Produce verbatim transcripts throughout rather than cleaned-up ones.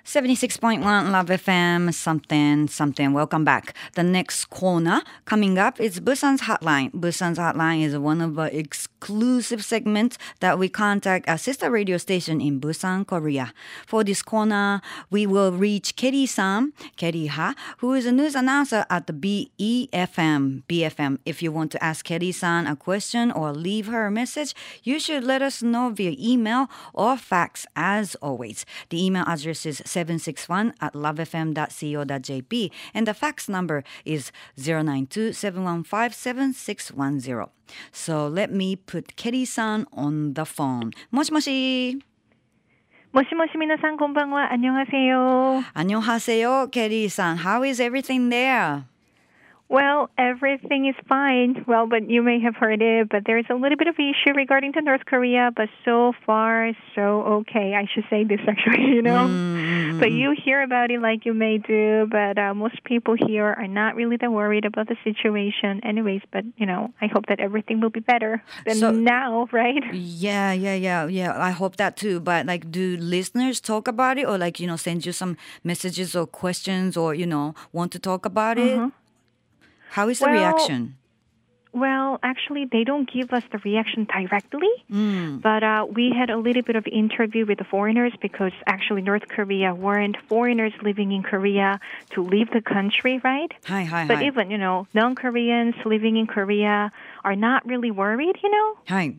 seventy-six point one Love エフエムsomething something. Welcome back. The next corner coming up is Busan's Hotline. Busan's Hotline is one of our exclusive segments that we contact a sister radio station in Busan, Korea. For this corner, we will reach Keri-san, Keri-ha, who is a news announcer at the B E F M. B F M. If you want to ask Keri-san a question or leave her a message, you should let us know via email or fax as always. The email address is seven six one at love f m dot co dot j p and the fax number is zero nine two seven one five seven six one zero. So let me put Keri-san on the phone. もしもし。 もしもし皆さんこんばんは。안녕하세요. 안녕하세요, Keri-san. How is everything there? Well, everything is fine. Well, but you may have heard it, but there's a little bit of issue regarding to North Korea, but so far, so okay. I should say this actually, you know. Mm-hmm. But you hear about it like you may do, but uh, most people here are not really that worried about the situation anyways, but, you know, I hope that everything will be better than so, now, right? Yeah, yeah, yeah, yeah. I hope that too. But, like, do listeners talk about it or, like, you know, send you some messages or questions or, you know, want to talk about it? Mm-hmm. How is the well, reaction? Well, actually, they don't give us the reaction directly, mm. but uh, we had a little bit of interview with the foreigners because actually North Korea weren't foreigners living in Korea to leave the country, right? Hi, hi, but hi. even, you know, non-Koreans living in Korea are not really worried, you know? Hi.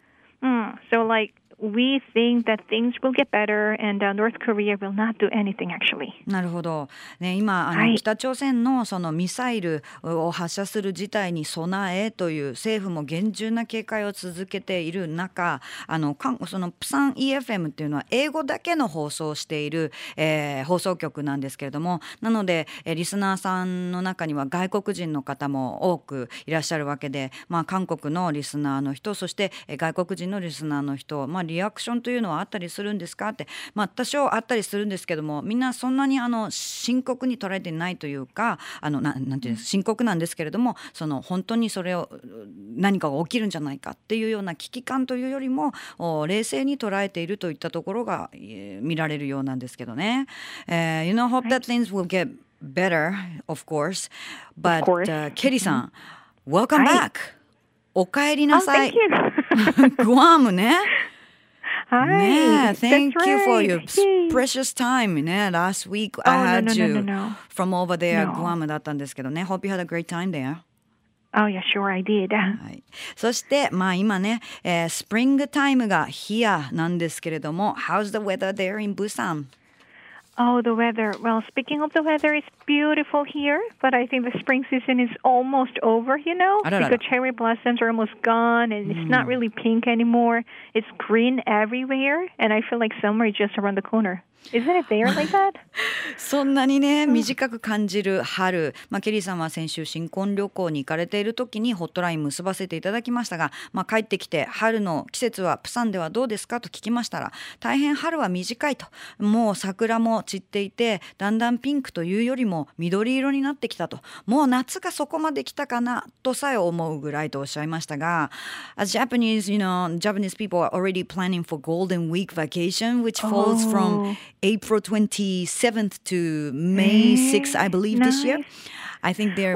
Mm, so, like, we think that things will get better and uh, North Korea will not do anything actually. なるほど。ね、今あの、はい、北朝鮮のそのミサイルを発射する事態に備えという政府も厳重な警戒を続けている中、あのそのプサン イーエフエム っていうのは英語だけの放送をしている、えー、放送局なんですけれども、なので、えー、リスナーさんの中には外国人の方も多くいらっしゃるわけで、まあ韓国のリスナーの人、そして、えー、外国人のリスナーの人、まあリアクションというのはあったりするんですかって、まあ、多少あったりするんですけども、みんなそんなにあの深刻に捉えてないというか、あのななんていうの、深刻なんですけれども、その本当にそれを何かが起きるんじゃないかっていうような危機感というよりも冷静に捉えているといったところが、えー、見られるようなんですけどね。Uh, you know, hope that things will get better, of course. But, uh, Keri さん、welcome back. お帰りなさい。グアムね。 Hi, yeah, thank that's you right. for your Yay. precious time. Yeah, last week oh, I had no, no, you no, no, no. from over there, no. Guam だったんですけどね。Hope you had a great time there. Oh, yeah, sure, I did. はい、そして、まあ、今ね、えー、スプリングタイムが here なんですけれども、How's the weather there in Busan? Oh, the weather. Well, speaking of the weather, it's beautiful here, but I think the spring season is almost over, you know? Because cherry blossoms are almost gone, and it's mm. not really pink anymore. It's green everywhere, and I feel like summer is just around the corner. Isn't it there like that? そんなにね短く感じる春、まあ、ケリーさんは先週新婚旅行に行かれている時にホットライン結ばせていただきましたが、まあ、帰ってきて春の季節はプサンではどうですかと聞きましたら、大変春は短いと、もう桜も散っていてだんだんピンクというよりも緑色になってきたと、もう夏がそこまで来たかなとさえ思うぐらいとおっしゃいましたが、 As Japanese, you know, Japanese people are already planning for Golden Week vacation, which falls oh. from April twenty-seventh to May sixth, I believe, nice. this year. I think there,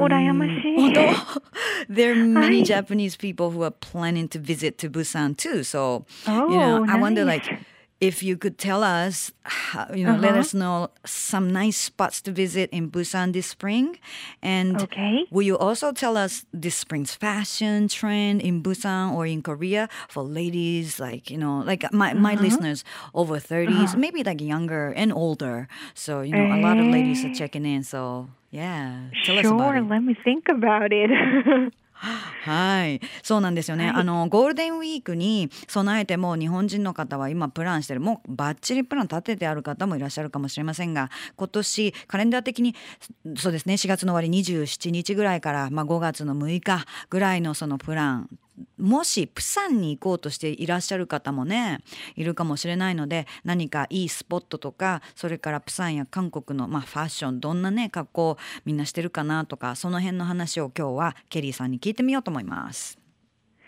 there are many Hi. Japanese people who are planning to visit to Busan too. So, oh, you know, nice. I wonder, like, if you could tell us, you know, uh-huh. let us know some nice spots to visit in Busan this spring. And okay. will you also tell us this spring's fashion trend in Busan or in Korea for ladies, like, you know, like my, uh-huh. my listeners over thirties, uh-huh. maybe like younger and older. So, you know, a lot of ladies are checking in. So, yeah, tell sure, us about it. Let me think about it. はい、そうなんですよね、はい、あのゴールデンウィークに備えても日本人の方は今プランしてる、もうバッチリプラン立ててある方もいらっしゃるかもしれませんが、今年カレンダー的にそうですね、しがつの終わりにじゅうしちにちぐらいから、まあ、ごがつのむいかぐらいのそのプラン、もしプサンに行こうとしていらっしゃる方もねいるかもしれないので、何かいいスポットとか、それからプサンや韓国の、まあ、ファッション、どんなね格好みんなしてるかなとか、その辺の話を今日はケリーさんに聞いてみようと思います。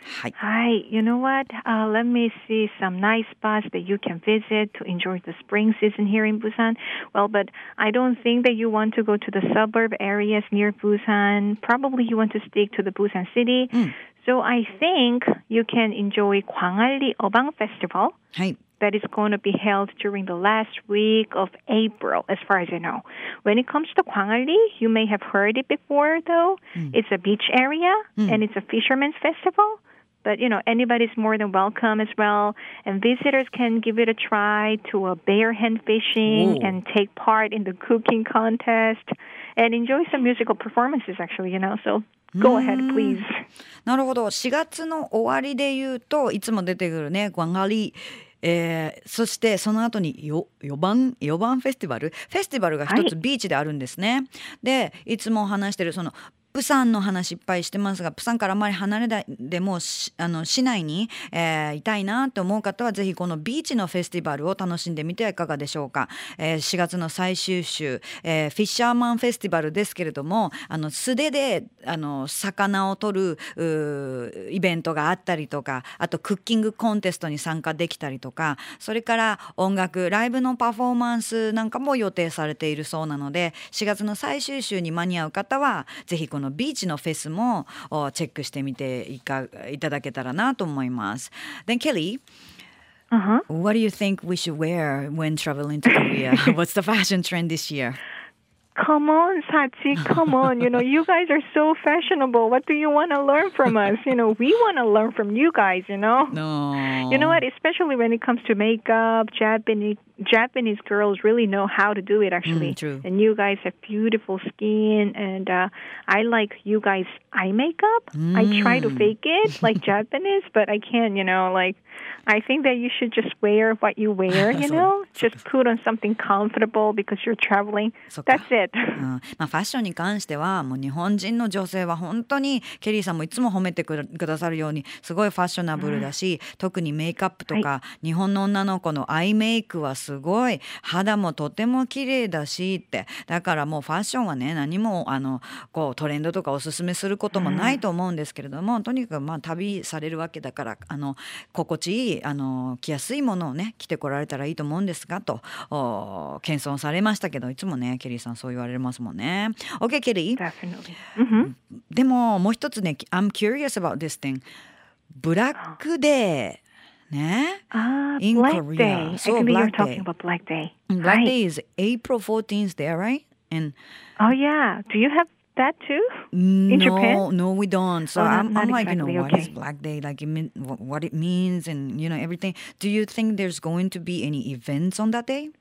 はい。 Hi, you know what? Uh, let me see some nice spots that you can visit to enjoy the spring season here in Busan. Well, but I don't think that you want to go to the suburb areas near Busan. Probably you want to stick to the Busan city. うん。 So I think you can enjoy Gwangalli Obang Festival. はい。 That is going to be held during the last week of April, as far as I know. When it comes to Gwangalli, you may have heard it before, though. It's a beach area, and it's a fisherman's festival. But, you know, anybody's more than welcome as well. And visitors can give it a try to a bear hen fishing Whoa. and take part in the cooking contest and enjoy some musical performances, actually, you know. So go ahead, please. なるほど。しがつの終わりで言うといつも出てくるねグアンガリ、えー、そしてその後によよばんよばんフェスティバルフェスティバルが一つビーチであるんですね。でいつも話してるそのプサンの話いっぱいしてますが、プサンからあまり離れないでもあの市内に、えー、いたいなと思う方はぜひこのビーチのフェスティバルを楽しんでみてはいかがでしょうか。えー、しがつの最終週、えー、フィッシャーマンフェスティバルですけれども、あの素手であの魚を取るイベントがあったりとか、あとクッキングコンテストに参加できたりとか、それから音楽ライブのパフォーマンスなんかも予定されているそうなので、しがつの最終週に間に合う方はぜひこのビーチのフェスもチェックしてみていかいただけたらなと思います。Then Kelly, uh-huh. what do you think we should wear when traveling to Korea? What's the fashion trend this year? Come on, Sachi, come on. You know, you guys are so fashionable. What do you want to learn from us? You know, we want to learn from you guys, you know? No. You know what? Especially when it comes to makeup, Japanese Japanese girls really know how to do it, actually. Mm, true. And you guys have beautiful skin. And uh, I like you guys' eye makeup. Mm. I try to fake it like Japanese, but I can't, you know, like... I think that you should just wear what you wear, you know? Just put on something comfortable because you're traveling. That's it. うんまあ、ファッションに関してはもう日本人の女性は本当にケリーさんもいつも褒めてくださるようにすごいファッショナブルだし、うん、特にメイクアップとか、はい、日本の女の子のアイメイクはすごい肌もとても綺麗だしってだからもうファッションはね何もあのこうトレンドとかおすすめすることもないと思うんですけれども、うん、とにかくまあ旅されるわけだからあの心地いいあの着やすいものをね着てこられたらいいと思うんですがと謙遜されましたけどいつもねケリーさんそう言われますもんね。 OK ケリー、 Definitely. Mm-hmm. でももう一つね I'm curious about this thing ブラックデーね、 uh, in Black Korea. Day. So I think Black you're talking Day. about Black Day. Black right. Day is April fourteenth there, right? And oh yeah, do you have that too? No, in Japan? no, we don't. So oh, I'm, not, I'm not like, exactly. you know, what okay. is Black Day? Like, it mean, what it means and, you know, everything. Do you think there's going to be any events on that day?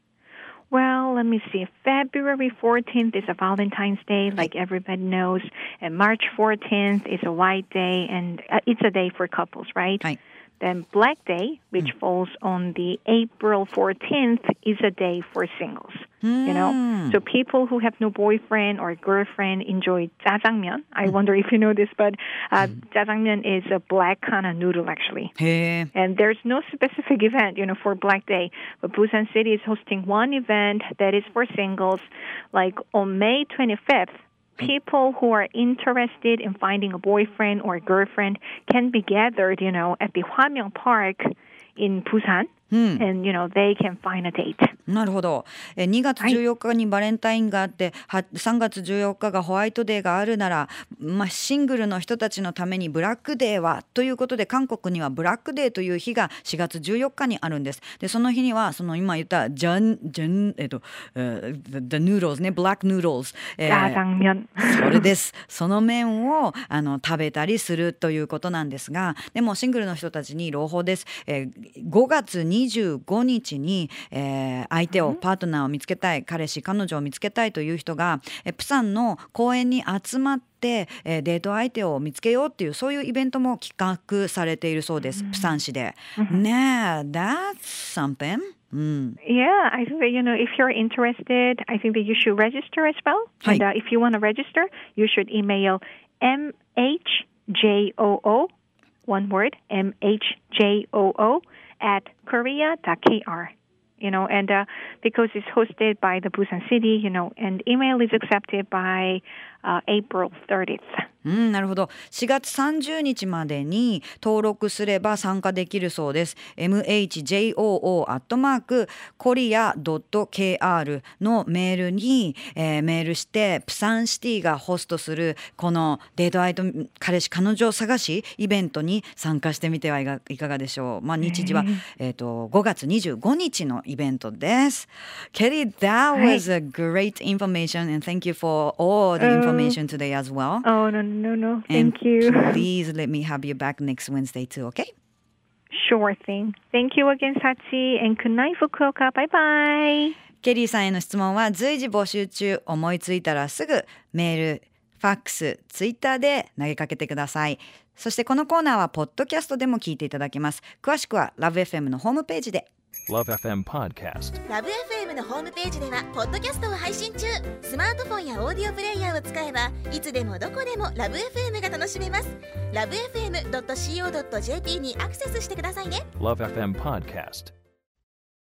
Well, let me see. February fourteenth is a Valentine's Day, like everybody knows. And March fourteenth is a White Day, and uh, it's a day for couples, right? Right. Then Black Day, which mm. falls on the April fourteenth, is a day for singles. Mm. You know, so people who have no boyfriend or girlfriend enjoy jjajangmyeon. I mm. wonder if you know this, but uh, mm. jjajangmyeon is a black kind of noodle, actually. Hey. And there's no specific event, you know, for Black Day. But Busan City is hosting one event that is for singles, like on May twenty-fifth. People who are interested in finding a boyfriend or a girlfriend can be gathered, you know, at the Hwamyeong Park in Busan. Hmm. And, you know, they can find a date. なるほど。えにがつじゅうよっかにバレンタインがあって、はい、さんがつじゅうよっかがホワイトデーがあるなら、まあ、シングルの人たちのためにブラックデーはということで韓国にはブラックデーという日がしがつじゅうよっかにあるんです。でその日にはその今言ったジャンジャンえっと、uh, the, the noodles ね black noodles、えー、それです。その麺をあの食べたりするということなんですが、でもシングルの人たちに朗報です。えー、ごがつにじゅうごにちに、えー、相手をパートナーを見つけたい彼氏彼女を見つけたいという人がえプサンの公園に集まってえデート相手を見つけようっていうそういうイベントも企画されているそうです、プサン市で。ねえ、that's something. Mm. Yeah, I think that, you know, if you're interested, I think that you should register as well. And uh, if you want to register, you should email M H J O O, one word, M H J O O at korea dot k r. You know, and uh, because it's hosted by the Busan City, you know, and email is accepted by uh, April thirtieth. うん、なるほど。しがつさんじゅうにちまでに登録すれば参加できるそうです。エムエイチジェイオーオー アットマーク コリア ドット ケーアール のメールに、えー、メールしてプサンシティがホストするこのデートアイド彼氏彼女探しイベントに参加してみてはいかいかがでしょう。まあ、日時は、えー、とごがつにじゅうごにちのイベントです。Kelly, that was a great information and thank you for all the information today as well. Oh, no, no, no. And Thank you. please let me have you back next Wednesday too, okay? Sure thing. Thank you again, Sachi. And good night, Fukuoka. Bye-bye. ケリーさんへの質問は随時募集中。思いついたらすぐメール、ファックス、ツイッターで投げかけてください。そしてこのコーナーはポッドキャストでも聞いていただけます。詳しくは ラブエフエム のホームページで。 ラブエフエム Podcast。 ラブエフエム のホームページではポッドキャストを配信中。スマートフォンやオーディオプレイヤーを使えばいつでもどこでもラブ エフエム が楽しめます。ラブエフエムドットシーオードットジェーピー にアクセスしてくださいね。 ラブエフエム Podcast。